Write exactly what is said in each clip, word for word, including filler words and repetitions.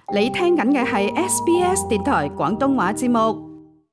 你聽緊嘅係 S B S 電台廣東話節目。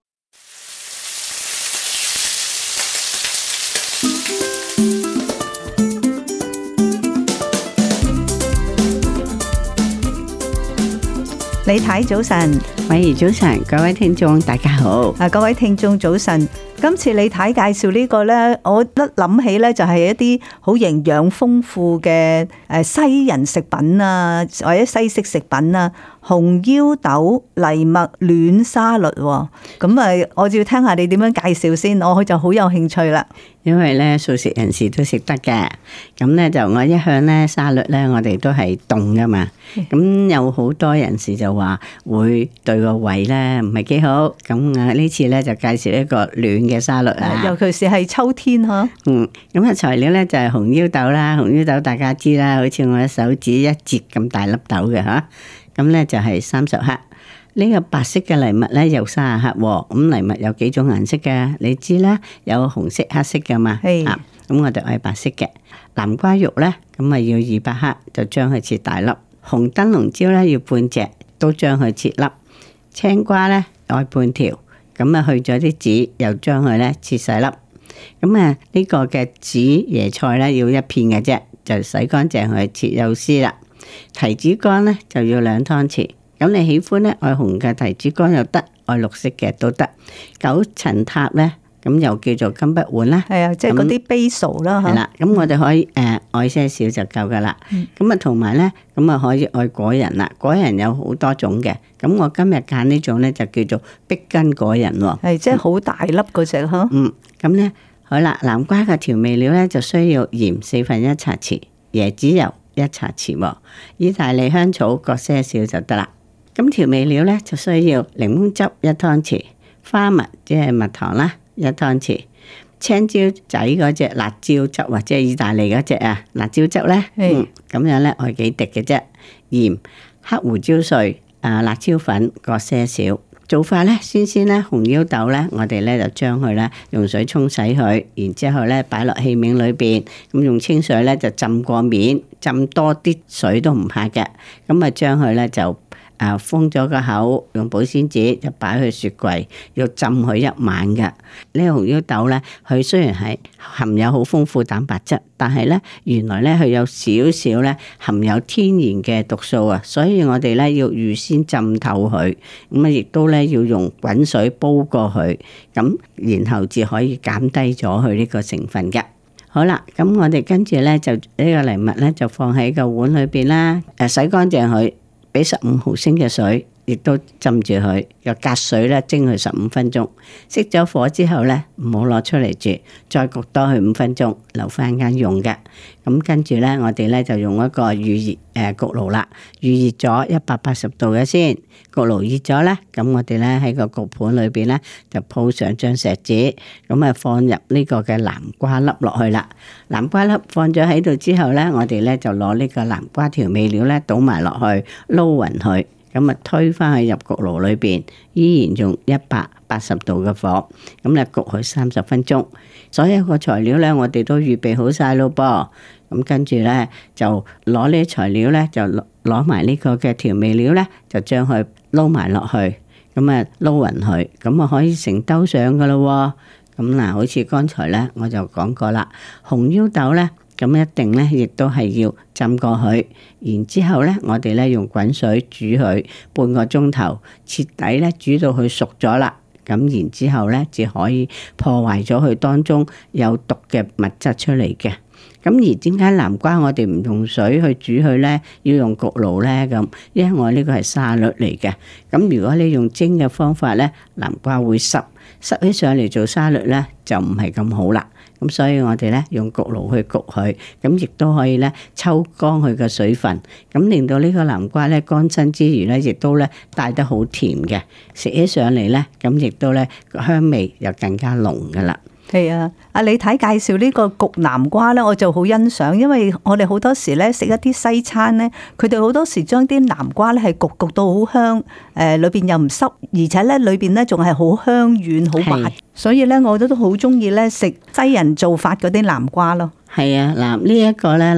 李太早晨， 偉兒早晨，各位聽眾大家好。 啊，各位聽眾早晨。今次李太介紹呢個呢，我一諗起呢就係一啲好營養豐富嘅誒西人食品啊，或者西式食品啊，紅腰豆藜麥嫩沙律。咁啊，我就要聽下你點樣介紹先，我就好有興趣啦。 因為咧素食人士都食得嘅，咁咧就我一向咧沙律咧，我哋都係凍噶嘛。咁有好多人士就話會對個胃咧唔係幾好，咁啊呢次咧就介紹一個暖嘅沙律啊。 尤其是係秋天嗬。 嗯，咁啊材料咧就係紅腰豆啦，紅腰豆大家知啦，好似我嘅手指一節咁大粒豆嘅吓，咁咧就係三十克。呢個白色嘅藜麥咧有三十克，咁藜麥有幾種顏色嘅，你知啦，有紅色、黑色嘅嘛。係啊，咁我哋係白色嘅。南瓜肉咧，咁啊要二百克，就將佢切大粒。紅燈籠椒咧要半隻，都將佢切粒。青瓜咧愛半條，咁啊去咗啲籽，又將佢咧切細粒。咁啊呢個嘅紫椰菜咧要一片嘅啫，就洗乾淨佢切幼絲啦。提子乾咧就要兩湯匙。咁你喜歡咧愛紅嘅提子乾又得，愛綠色嘅都得。九層塔咧，咁又叫做金不換啦。係啊， 即係嗰啲 basil 啦。 係啦，咁我哋可以誒愛些少就夠噶啦。咁啊同埋咧，咁啊可以愛果仁啦。果仁有好多種嘅，咁我今日揀呢種咧就叫做碧根果仁喎。係， 即係好大粒嗰隻嗬。 嗯，咁咧好啦，南瓜嘅調味料咧就需要鹽四分一茶匙，椰子油一茶匙，意大利香草各些少就得啦。咁調味料咧就需要檸檬汁一湯匙，花蜜即係蜜糖啦一湯匙，青椒仔嗰隻辣椒汁或者係意大利嗰隻啊辣椒汁咧，嗯咁樣咧愛幾滴嘅啫，鹽、黑胡椒碎、啊辣椒粉各些少。做法咧，先先咧紅腰豆咧，我哋咧就將佢咧用水沖洗佢，然之後咧擺落器皿裏邊，咁用清水咧就浸過面，浸多啲水都唔怕嘅，咁啊將佢咧就。啊，封咗個口，用保鮮紙就擺去雪櫃，要浸佢一晚嘅。呢個紅腰豆咧，佢雖然係含有好豐富蛋白質，但係咧原來咧佢有少少咧含有天然嘅毒素啊，所以我哋咧要預先浸透佢，咁啊亦都咧要用滾水煲過佢，咁然後至可以減低咗佢呢個成分嘅。好啦，咁我哋跟住咧就呢個藜麥咧就放喺個碗裏邊啦，誒洗乾淨佢。俾十五毫升嘅水，亦都浸住佢，又隔水咧蒸佢十五分鐘。熄咗火之後咧，唔好攞出嚟住，再焗多佢五分鐘，留翻間用嘅。咁跟住咧，我哋咧就用一個預熱誒焗爐啦，預熱咗一百八十度嘅先。焗爐熱咗咧，咁我哋咧喺個焗盤裏邊咧就鋪上張錫紙，咁啊放入呢個嘅南瓜粒落去啦。南瓜粒放咗喺度之後咧，我哋咧就攞呢個南瓜調味料咧倒埋落去撈勻佢。咁啊，推返去入焗爐裏邊，依然用一百八十度嘅火，咁咧焗佢三十分鐘。所有個材料咧，我哋都預備好晒咯噃。咁跟住咧，就攞呢啲材料咧，就攞埋呢個嘅調味料咧，就將佢撈埋落去，咁啊撈勻佢，咁啊可以成兜上噶咯。咁嗱，好似剛才咧，我就講過啦，紅腰豆咧。咁一定咧，亦都係要浸過佢，然之後咧，我哋咧用滾水煮佢半個鐘頭，徹底咧煮到佢熟咗啦。咁然之後咧，就可以破壞咗佢當中有毒嘅物質出嚟嘅。咁而點解南瓜我哋唔用水去煮佢咧，要用焗爐咧？咁因為我呢個係沙律嚟嘅。咁如果你用蒸嘅方法咧，南瓜會濕，濕起上嚟做沙律咧就唔係咁好啦。咁所以我哋咧用焗爐去焗佢，咁亦都可以咧抽乾佢嘅水分，咁令到呢個南瓜咧乾身之餘咧，亦都咧帶得好甜嘅，食起上嚟咧，咁亦都咧香味又更加濃噶啦。 係啊，阿李太介紹呢個焗南瓜咧，我就好欣賞，因為我哋好多時咧食一啲西餐咧，佢哋好多時將啲南瓜咧係焗焗到好香，誒裏邊又唔濕，而且咧裏邊咧仲係好香軟好滑，所以咧我都都好中意咧食西人做法嗰啲南瓜咯。 係啊，嗱呢一個咧嗱，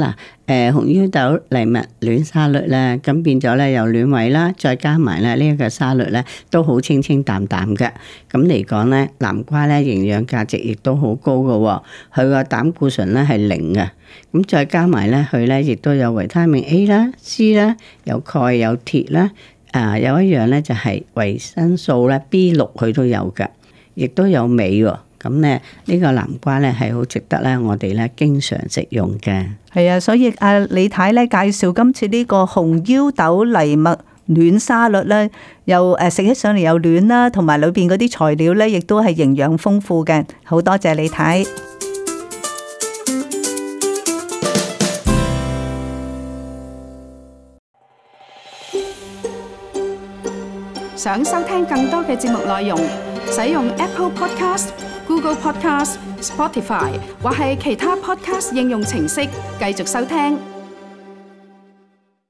誒紅腰豆藜麥嫩沙律咧，咁變咗咧又暖胃啦，再加埋咧呢一個沙律咧都好清清淡淡嘅。咁嚟講咧，南瓜咧營養價值亦都好高嘅，佢個膽固醇咧係零嘅。咁再加埋咧，佢咧亦都有維他命 A 啦、C 啦，有鈣有鐵啦。啊，有一樣咧就係維生素咧 B 六佢都有㗎，亦都有鎂喎。咁咧呢個南瓜咧係好值得咧我哋咧經常食用嘅。 係啊，所以阿李太咧介紹今次呢個紅腰豆藜麥暖沙律咧，又誒食起上嚟又暖啦，同埋裏邊嗰啲材料咧亦都係營養豐富嘅。好多謝李太。 想收聽更多嘅節目內容，使用 Apple Podcast、Google Podcast、Spotify 或係其他 Podcast 應用程式繼續收聽。